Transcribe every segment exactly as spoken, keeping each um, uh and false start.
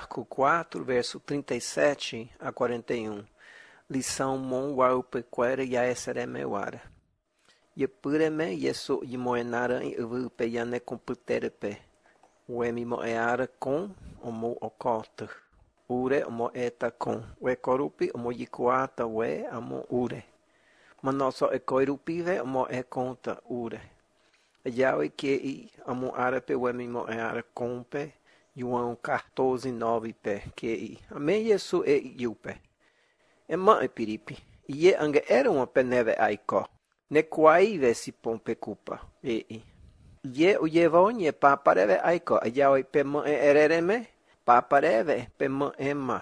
Marcos quatro, verso trinta e sete a quarenta e um. Lição mon waupequera yaeseremewara. Yepureme yeso yimoenara em evupeyane computerepe. Uemi moeara com omo oculta. Ure omo eta com. We corupi omo yikuata we amo ure. Manoso ekoirupive omo e conta ure. Yawe que i amo arape uemi moeara compe. João quatorze, nove pé que i. Amém yesu e yupe. Ema e piripi. Ie ange era uma peneve aiko. Ne kwai vesi pompe kupa. E i. Ie uyevo nye papareve aiko. Ayawe pema e erereme. Papareve pema ema.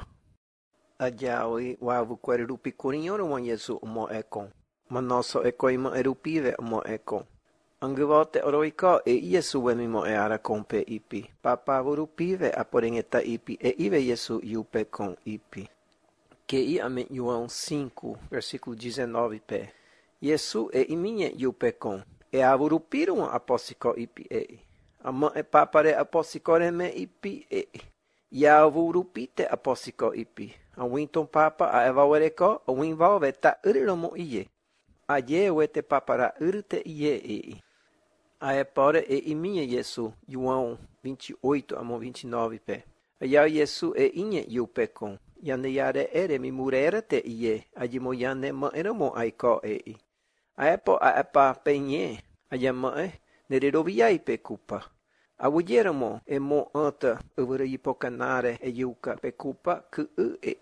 Ayawe wavu kwerupi kurinyoro wan yesu umo ekon. Manoso eko ima erupive umo ekon. Angevote oroiko e yesu wemimo e ara kompe ipi. Papa vurupive aporengeta ipi e ive yesu yupe com ipi. Que i ame João cinco, versículo dezenove pé. Yesu e iminye yupe com. E avurupirum aposiko ipi e. Ama e papare aposikoreme ipi e. Ya avurupite aposiko ipi. A winton papa a evawereko o winvalve ta uriromo iye. Aye wete papara urte iye e. A epora e iminye Yesu, João vinte e oito a vinte e nove pé. Aya Yesu e inye yupe com. Yane yare ere mi murera te iye, ajimo yane ma eramo aiko e. A epo a epa penye, ayama e, nererovia pe kupa. Awujeramo e mo anta uvere yipokanare e yuka pe kupa ku e.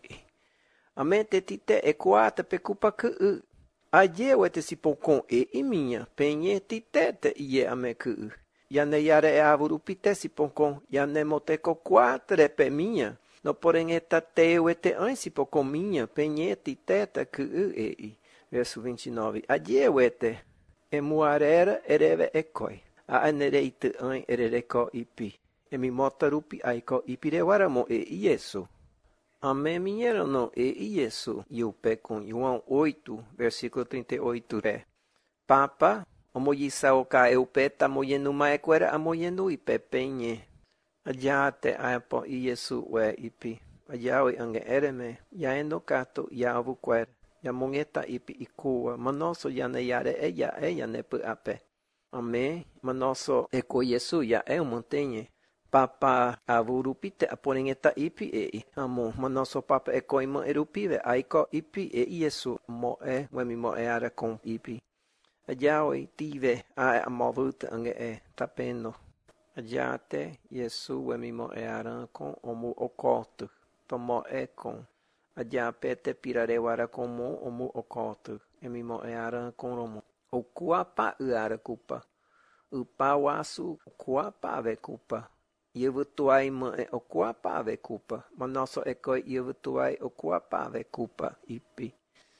Amente tite e kuata pe kupa ku. Aye wete sipokon e iminha, penye tite te iye ame ku. Yane yare e avurupite sipokon, yane moteko quatre pe minha. No porém eta teu ete ansi po minha penhete teta que e verso vinte e nove. Adie ete e muarera ereve ekoi. A anereite an erereko ipi. E mi motarupi aiko ipirewaramo e yesu. Amém minheiro não e yesu. Yupe com João oito, versículo trinta e oito é. Papa, omoyisa oka eupeta moyenuma equera amoyenu ipe penye. Ajate apo Yesu we ipi. Ayawe ange ereme. Yaeno kato yavu kwer. Yamongeta ipi ikua. Manoso yane yare eya eya nepu ape. Amém. Manoso eko Yesu ya e montenye. Papa avurupite aporengeta ipi e. Amo. Manoso papa eko ima erupive. Aiko ipi e Yesu mo e. Wemi mo e ara com ipi. Ayawe tive a amovuta ange e. Tapeno. Adiate, Yesu wemimo e aran com omu oculto, tomo e com. Adiapete pirarewara como omu oculto, emimo e aran com romo. O kuapa uara kupa. Upa wasu kuapa ave kupa. Yevutuai ma e o kuapa ave kupa. Manoso eko yevutuai o kuapa ave kupa ipi.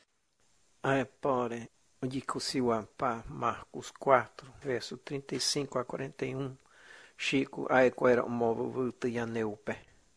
Ae pore, ojikusiwa pa Marcos quatro, verso trinta e cinco a quarenta e um. Chico aequera movo vuta yaneupe.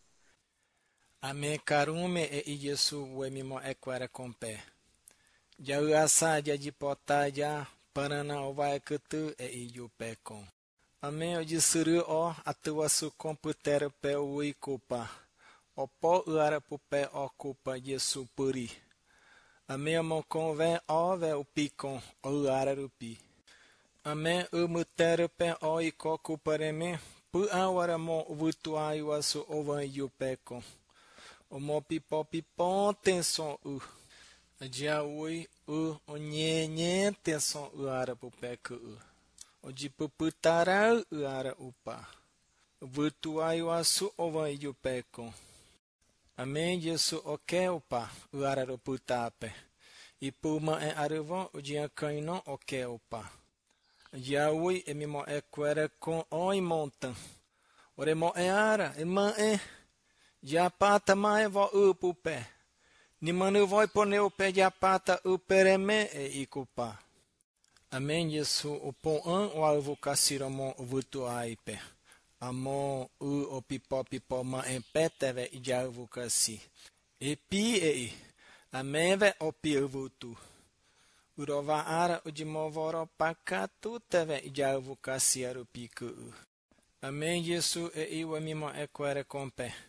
Ame karume e Yesu wemimo equera compe. Ja uasa ja dipota ja parana ovae kutu e iupe com. Ame o disuru o atuasu computer pe ui culpa. O po uara pupe o culpa Yesu puri. Ame amo conve o ve o picon o uara rupi. Ame umutere pe o iko kupareme pu awara mo vutuai wasu ovan yupeko. O mo pipo pipo tenson u. Adia ui u onye nye tenson u ara pupeko u. O di puputara u ara upa. Vutuai wasu ovan yupeko. Ame Yesu oke upa u ara ruputape. I puma e arivon o dia kaino oke upa. Yaui e mimo e quere com oi montan. Ore mo e ara e man e. Ja pata ma e vo upu pe. Ni manu voi pone o pe ja pata upereme e ikupa. Amen Yesu o pon an o alvo kasiro mo vutu aipe. Amo u o pipo pipo ma e peteve i ja alvo kasi. E pi e. Ameve o pi vutu. Urova ara o de movoro pakatu teve javu kasiaru piku. Amém Yesu e iwa mimo equere compe.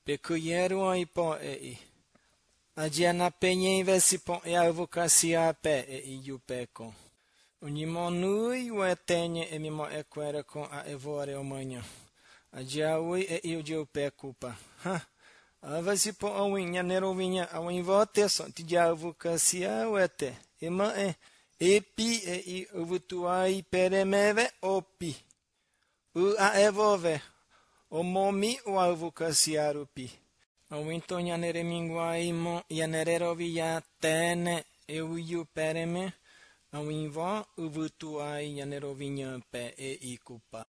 Pecuieru ipo e i. Ajiana penye vesipo e avocacia pe e i jupeco. Unimo nui we tenye e mimo e quere con a evore o manha. Ajia ui e i jupe culpa. Ha. Avesipo a winha nero vinha a win vote so ti ja avocacia wete. Ema e epi e i uvutuai peremeve opi. U a evove. O momi o avocacia rupi. O winto nyanere minguai mo yanero via tene e uiu pereme. A winvo uvutuai yanero vinha pe e i culpa.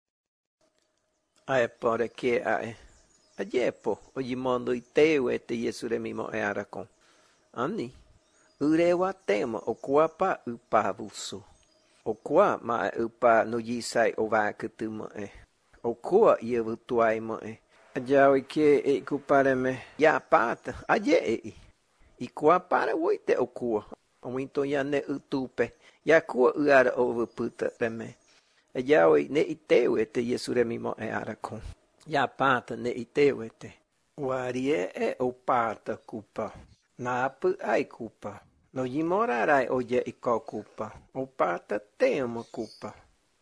Ae pore que ae. Ajepo, ojimondo iteu ete yesure mimo e arakon. Ani. Urewa tema o kuapa upa vusu. O kua ma upa no yisai o vakutuma e. O kua yevutuai mo e. Ajawi ke e kupareme ya pata. Aje e. I kua para woite o kua. O winto ya ne utupe. Ya kua uara over puta reme. Ajawi ne iteu ete yesure mimo e arakon. Ya pata ne iteu ete. Warie e o pata kupa. Na apu ai kupa. No yimorarai oye iko kupa. O pata tema kupa.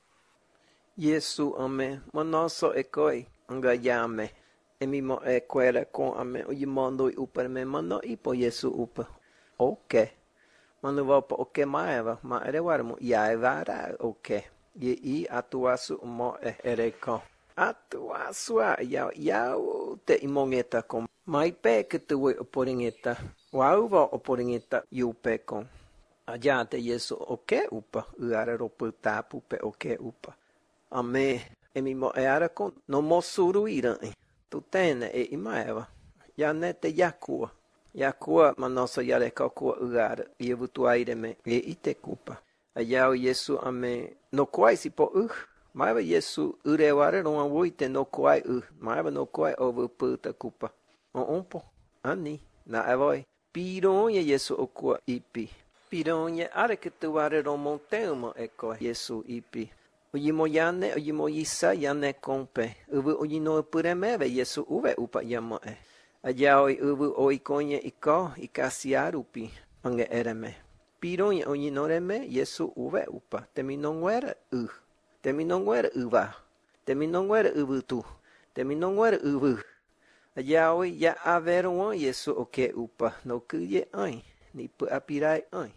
Yesu ame monoso ekoi anga yame. E mimo e quere con ame o yimondo i upa me mano ipo Yesu upa. Ok. Mano vopa ok maeva ma ere warmo ya evara ok. Ye i atuasu mo e ereko. Atuasu a ya ya te imongeta com. Mai pe que tu oporingeta. Wauva oporingeta yupe con. Ajate Yesu ok upa. Uara ropu tapu pe ok upa. Ame e mimo e ara con no mosuru iran. Tu tene e imaeva. Ya nete yakua. Yakua manoso yareka kua uara. Yevutu aireme e ite kupa. Ayao Yesu ame no kuai sipo uh. Maiva Yesu ureware ronga wuite no kuai uh. Maiva no kuai over puta kupa. O umpo. Ani. Na evoi. Pironha Yesu okua ipi. Pironha are que tu are romonteuma eko Yesu ipi. Ujimo yane, ujimo yisa yane kompe. Uvu ujino puremeve Yesu uve upa yamae. Ajao uvu oikonye iko ikasiarupi ange ereme. Pironha ujinoreme Yesu uve upa. Teminonguera u. Teminonguera uva. Teminonguera uvutu. Teminonguera uvu. Ajao ya averon Yesu oke upa. No kuye ai. Ni pu apirai ai.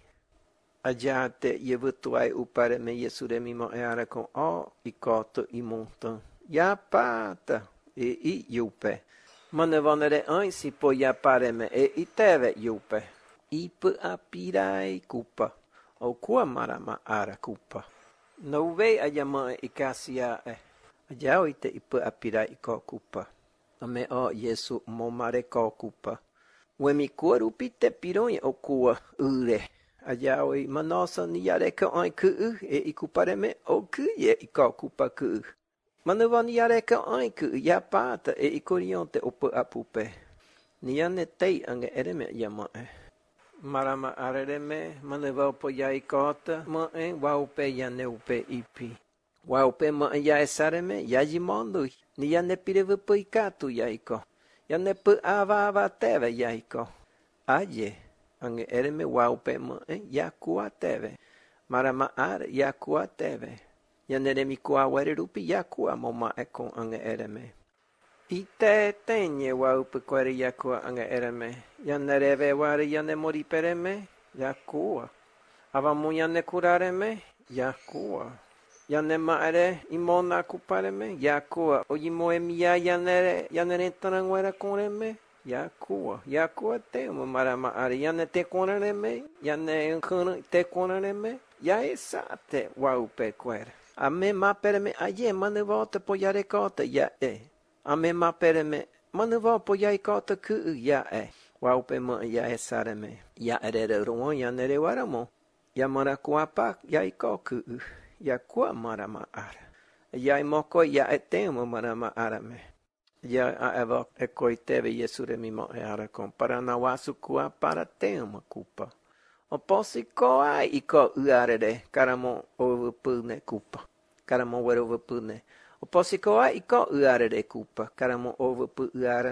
Ajate yevutuai upare me Yesure mimo e ara con o i koto i montan. Ya pata e i yupe. Manevonere ai si po ya pare me e i teve yupe. I pu apirai kupa. O kua marama ara kupa. No ve ayama i kasia e. Ajao ite i pu apirai i ko kupa. Ame o Yesu momare ko kupa. Wemi kua rupite pironye o kua ure. Ajawi manosa ni yareka ai ku e ikupareme o ku ye ika kupa ku. Manuva ni yareka ai ku ya pata e ikorionte opo apupe. Ni yane tei ange ereme yama e. Marama arereme manuva opo ya ikota ma e waupe yane upe ipi. Waupe ma ya esareme ya jimondo. Ni yane pirevupo ikatu ya iko. Yane pu ava ava teve ya iko. Aye. Ange ereme waupe mo e yakua teve. Marama ar yakua teve. Yaneremi kua were rupi yakua moma ekon ange ereme. Ite tenye waupe kwere yakua ange ereme. Yanereve ware yane mori pereme yakua. Avamu yane kurareme yakua. Yane maere imona kupareme yakua. Ojimo emia yanere yanere tanangwera konreme. Yakua, yakua te uma marama ari yane te konareme, yane nkuna te konareme, ya esate waupe kwere. Ame ma pereme aye manuvote po yare kota ya e. Ame ma pereme manuvo po yai kota ku ya e. Waupe ma ya esareme. Ya erere ruon ya nere waramo. Ya marakuapa ya ikoku. Ya kua marama ara. Ya imoko ya etema marama arame. Ya eva ekoiteve Yesure mimo e ara con para na wasu kua para tema kupa. O posi ko ai iko uarere karamo overpune kupa. Karamo wero overpune. O posi ko ai iko uarere kupa. Karamo overpu uarane.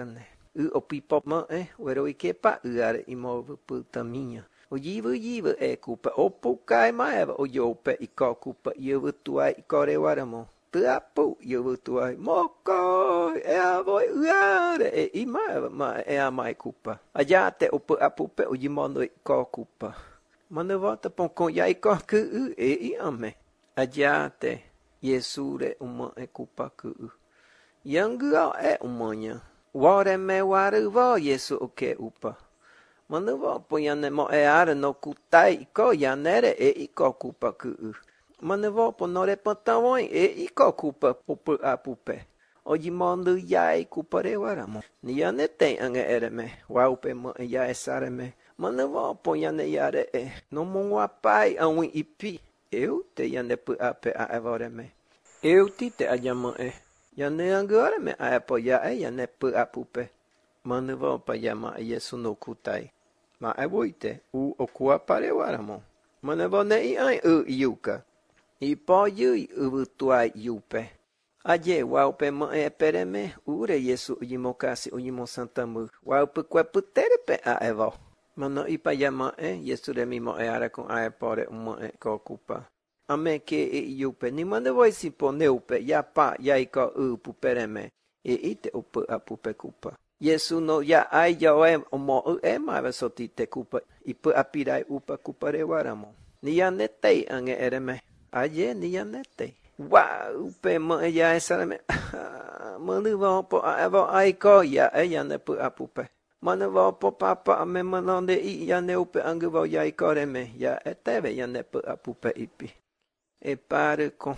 U o pipo ma e, wero i ke pa u are i mo puta minha. O yivu yivu e kupa o pukai maeva o yope i ko kupa yivu tuai i kore waramo. Tuapu yivu tuai moko e a voi uare e i maeva ma e a mai kupa. Aja te opu apupe o yimono i ko kupa. Mana volta pon kon ya i ko ku u e i ame. Aja te Yesure uma e kupa ku u. Yangu au e umanya. Ware me waru vo Yesu o ke upa. Mana vo po yane mo e ara no kutai i ko yanere e i ko kupa ku u. Mana vo po no re pantawoi e i ko kupa popu apupe. O yimondo ya i kupa re waramo. Ni yane te anga ere me. Waupe mo e ya e sare me. Mana vo po yane yare e. No mongwa pai awi ipi. Eu te yane pu ape a evore me. Eu ti te ajama e. Yane angore me a epo ya e yane pu apupe. Mana vo pa yama e Yesu no kutai. Ma e woite u o kua pare waramo. Mana vo ne i ai u iuka. I po yui u tuai yupe. Aje waupe mo e pere me. Ure Yesu ujimo kasi ujimo santamu. Waupe kwe putere pe a evo. Mano i pa yama e. Yesu re mi mo e ara con a e pore umo e ko kupa. Ame ke e yupe. Ni mana voi si po neupe. Ya pa ya i ko u pupere me. E ite upu a pupe kupa. Yesu no ya ai yo e omo u e ma soti te kupa. I pu apirai upa kupa re waramo. Ni ya netei ange ere me. Aye ni ya netei. Wow, pe mo e ya e sara me. Manu vo po a evo ai ko ya e ya ne pu apupe. Manu vo po papa a me manonde i ya ne upe angu vo ya i kore me. Ya e teve ya ne pu apupe ipi. E pare ko.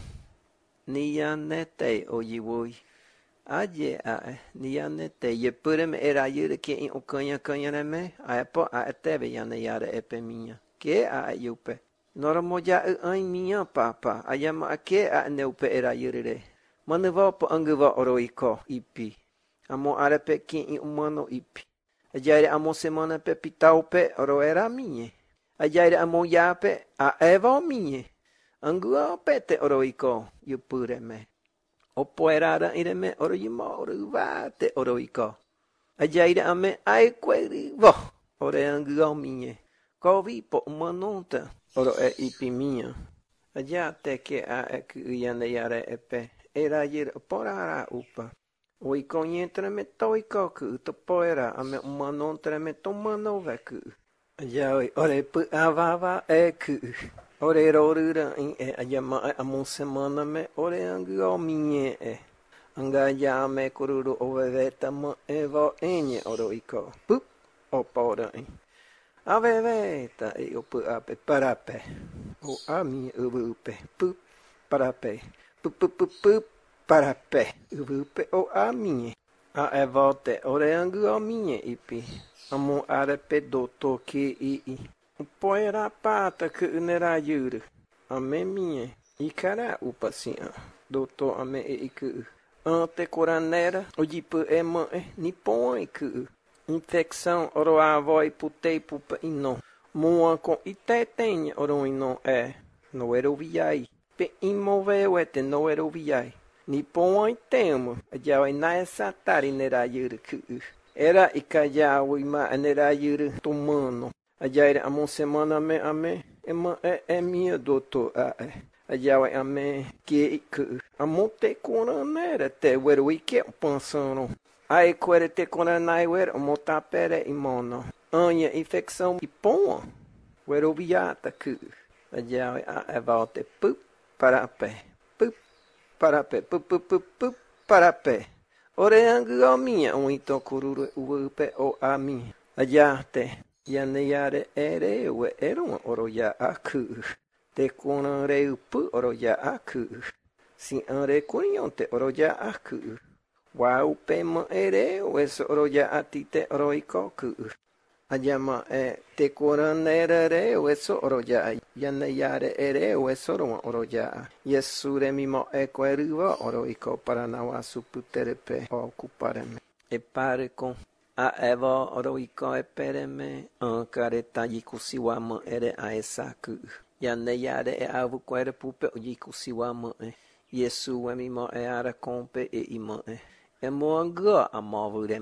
Ni ya netei o yiwui. Aje a e. Ni ya netei. Ye pure me era yure ke in o kanya kanya ne me. A e po a e teve ya ne yare epe minha. Ke a e yupe. Nora moja e ai minha papa. Ayama a ke a ne upe era yure re. Manu vo po angu vo oro i ko ipi. Amo are pe ki in umano ipi. Ajaire amo semana pe pitau pe oro era minha. Ajaire amo ya pe a evo minha. Angu a pe te oro i ko. Yupure me. Opo era ra ire me oro yimo oro va te oro i ko. Ajaire ame ai kweri vo. Ore angu a minha. Ko vi po umanonta. Oro e ipi minha. Aja te ke a e ku yane yare e pe. Era yir porara upa. O i ko nyentre me to i ko ku to poera ame umanontre me to mano ve ku. Aja oi ore pu avava e ku. Ore rorura in e ajama amon semana me ore angu o minha e. Anga ya me kururu o veveta mo e vo enye oro i ko. Pup o pora in. Aveveta e o pu ape parape. O ami uvupe. Pup parape. Pup pup pup pup parape. Uvupe o ami. A e volte ore angu o minha ipi. Amo arepe doto ke i i. Poera pata que unera yuru. Ame minha. Ikara upasia. Doto ame e iku. Ante coranera. O jipu e ma e. Nipon iku. Infecção oro a voi putei pupa ino. Mua com itetenha oro ino é. No ero viai. Pe imoveu ete no ero viai. Nipon ai temo. Ajau ina essa tari nera yuru ku. Era ikajau ima nera yuru tomano. Ajaire amon semana me ame. Ema é, é minha doutor. A é. Ajaue ame que que. Amon te coranera te wero ike pensando. Ai quere te coranai wer mota pere imono. Anya infecção e pon. Wero viata que. Ajaue a é volte pup para pé. Pup para pé. Pup pup pup pup para pé. Ore angu minha um ito kururu upe o a minha. Ajate. Yane yare ere we eron oro ya aku. Te konan re upu oro ya aku. Si an re kunyon te oro ya aku. Wa upe ma ere we so oro ya atite oro ikoku. Ajama e te konan ere re we so oro ya. Yane yare ere we so oro ya. Yesu re mi mo e kweruva oro iko para nawa suputerepe o kupareme. E pare con. A evo oro iko e pereme an kareta yikusiwama ere a esaku. Yane yare e avu kwere pupe o yikusiwama e. Yesu e mi mo e ara kompe e ima e. E mo anga a mavure me.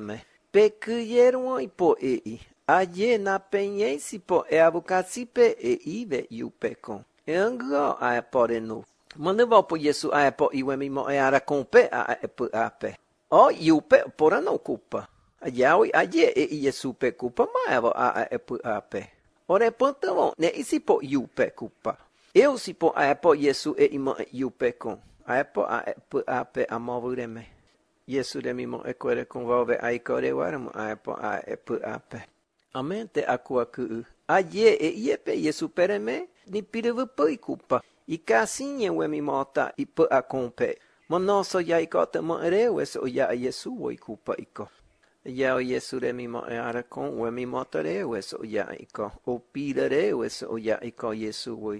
Pecuieron y po e. Aye na penyensi po e avocasipe e ive iu pecon. E anglo a pore no. Maneva po Yesu a po iwe mimo e ara compe a e po ape. O iu pe pora não culpa. Aye aye e Yesu pe culpa ma eva a e po ape. Ore pantamo ne isi po iu pe culpa. Eu si po a po Yesu e ima iu pecon. A po a e po ape a movureme. Yesu de mimo e quere convolve a icore waramo a po a e po ape. Amente akua ku aye e iepe Yesu pereme ni pirevu poi culpa. I casinha we mi mota i po a compe. Monoso ya ikota mo ereu eso ya Yesu wo culpa iko. Ya Yesu de mimo e ara con we mi mota reu eso ya iko. O pira reu eso ya iko Yesu wo.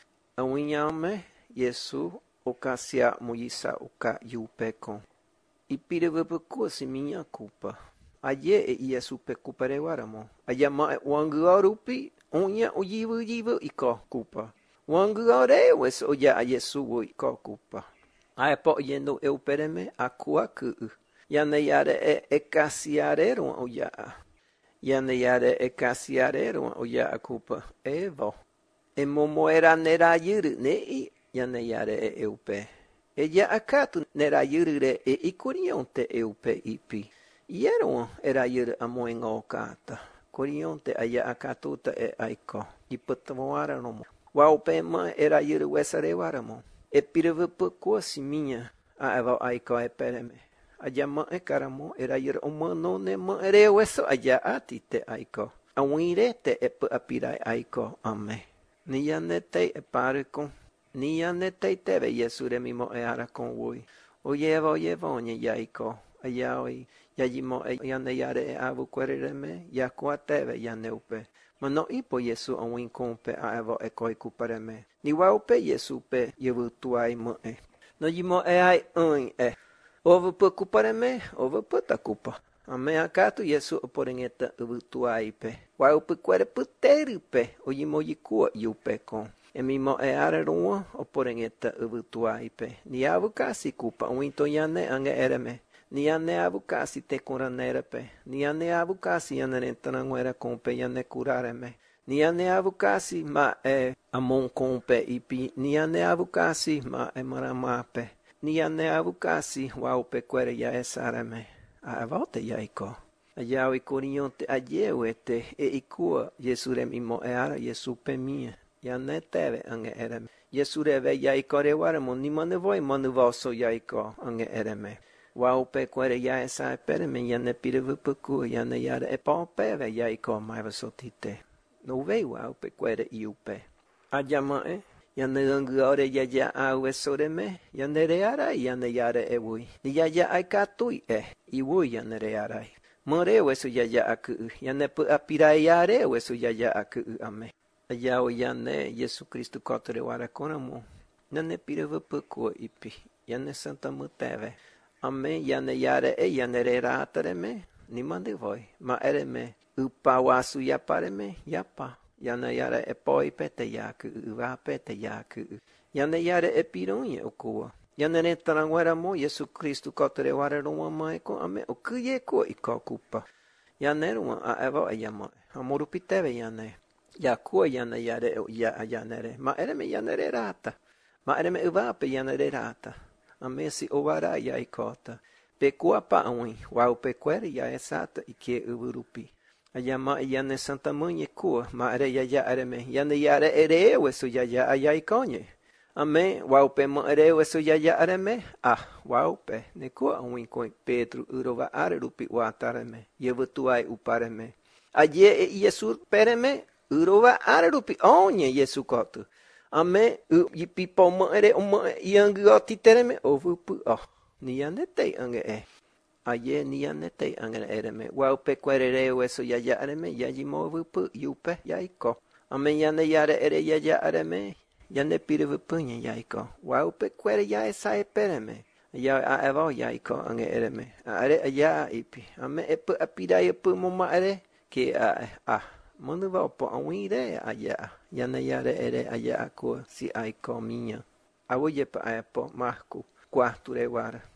Awinyame Yesu o casia moisa o ca yupe con. I pirevu po si minha culpa. Aye e Yesu pe culpa re waramo. Aye ma wangu arupi onya o yivu yivu iko culpa. Wangu are wes o ya Yesu wo iko culpa. Ae po yendo eu pereme akua ku. Ya ne yare e e casiarero o ya. Ya ne yare e casiarero o ya culpa. Evo. E momo era nera yuru ne i ya ne yare e eu pe. E ya akatu nera yuru re e ikurionte eu pe ipi. Iero era yuru amoengo kata. Kurionte aya akatuta e aiko. Iputamoara no mo. Wao pe ma era yuru wesare waramo. E pirevu po si minha a eva aiko e pereme. Aja ma e karamo era yuru omano ne ma ere weso aja ati te aiko. Awire te e po apirai aiko. Amen. Ni yanete e pare con. Ni yanete teve Yesu re mimo e ara con voi. Oyeva oyeva onye yaiko. Ayaoi. Yajimo e yane yare e avu querereme. Yakua teve yaneupe. Ma no ipo Yesu a win compe a evo e koi kupareme. Ni wau pe Yesu pe yevu tuai mo e. No yimo e ai un e. Ovo pe kupareme, ovo pe ta kupa. A me akatu Yesu o porengeta uvu tuai pe. Wau pe quere puteri pe. O yimo yikua yu pe con. E mimo e are rua o porengeta uvu tuai pe. Ni avu kasi kupa. Winto yane ange ereme. Ni ane avu kasi te coranera pe. Ni ane avu kasi yane rentananguera compe yane curareme. Ni ane avu kasi ma e amon compe ipi. Ni ane avu kasi ma e maramape. Ni ane avu kasi wau pe quere ya esareme. A volte ya iko. Ayau ikorionte ayeuete e ikua Yesu mimo e ara Yesu pe mia. Yane teve ange ereme. Yesu reve ya ikore waremo ni mane voi manu voso ya iko ange ereme. Wau pe quere ya esa pereme yane pirevu puku yane yare e pa peve ya iko maiva sotite. No vei wau pe quere iu pe. Ajama e yane langu ore ya ya au e soreme yane reara yane yare e wui. Ni ya ya ai katui e i wui yane rearai. More wesu ya ya aku yane pu apirai yare wesu ya ya aku ame. Ayao yane Yesu Kristu kotore wara konamo. Yane pirevu puku ipi. Yane santa muteve. Amen. Yane yare e yane re ratareme. Ni mande voi. Ma ereme. Upa wasu yapareme. Yapa. Yane yare e poi pete yaku. Uva pete yaku. Yane yare e pironye okua. Yane re taranguera mo. Yesu Kristu kotore ware roma maeko. Amen. O kuye ko iko kupa. Yane roma a evo e yama. Amoru piteve yane. Yakua yane yare o ya yane re. Ma ereme yane re rata. Ma ereme uva pe yane re rata. Ame si ovara ya ikota. Pe kuapa aui. Wau pe quere ya esata ike uvurupi. Ayama yane santa mãe kua. Ma are ya ya areme. Yane yare ere wesu ya ya aya ikonye. Ame. Wau pe ma ere wesu ya ya areme. Ah. Wau pe. Ne kua aui koi Pedro urova are rupi watareme. Yevutuai upareme. Aye e Yesu pereme. Urova are rupi. Onye Yesu kotu. Ame u yipipo mo ere o mo yangu oti tereme ovu pu oh ni yanete ange e aye ni yanete ange ereme wau pe querere weso ya ya areme ya yimo vu pu yupe yaiko ame yane yare ere ya ya areme yane pire vu punye yaiko wau pe quere ya esa e pereme ya a evo yaiko ange ereme are ya ipi ame e pu apida e pu mo ma ere ke a ah Manu va po awire aya yana yare ere aya ko si ai ko minha. Awoye pa apo marco quarto rewara.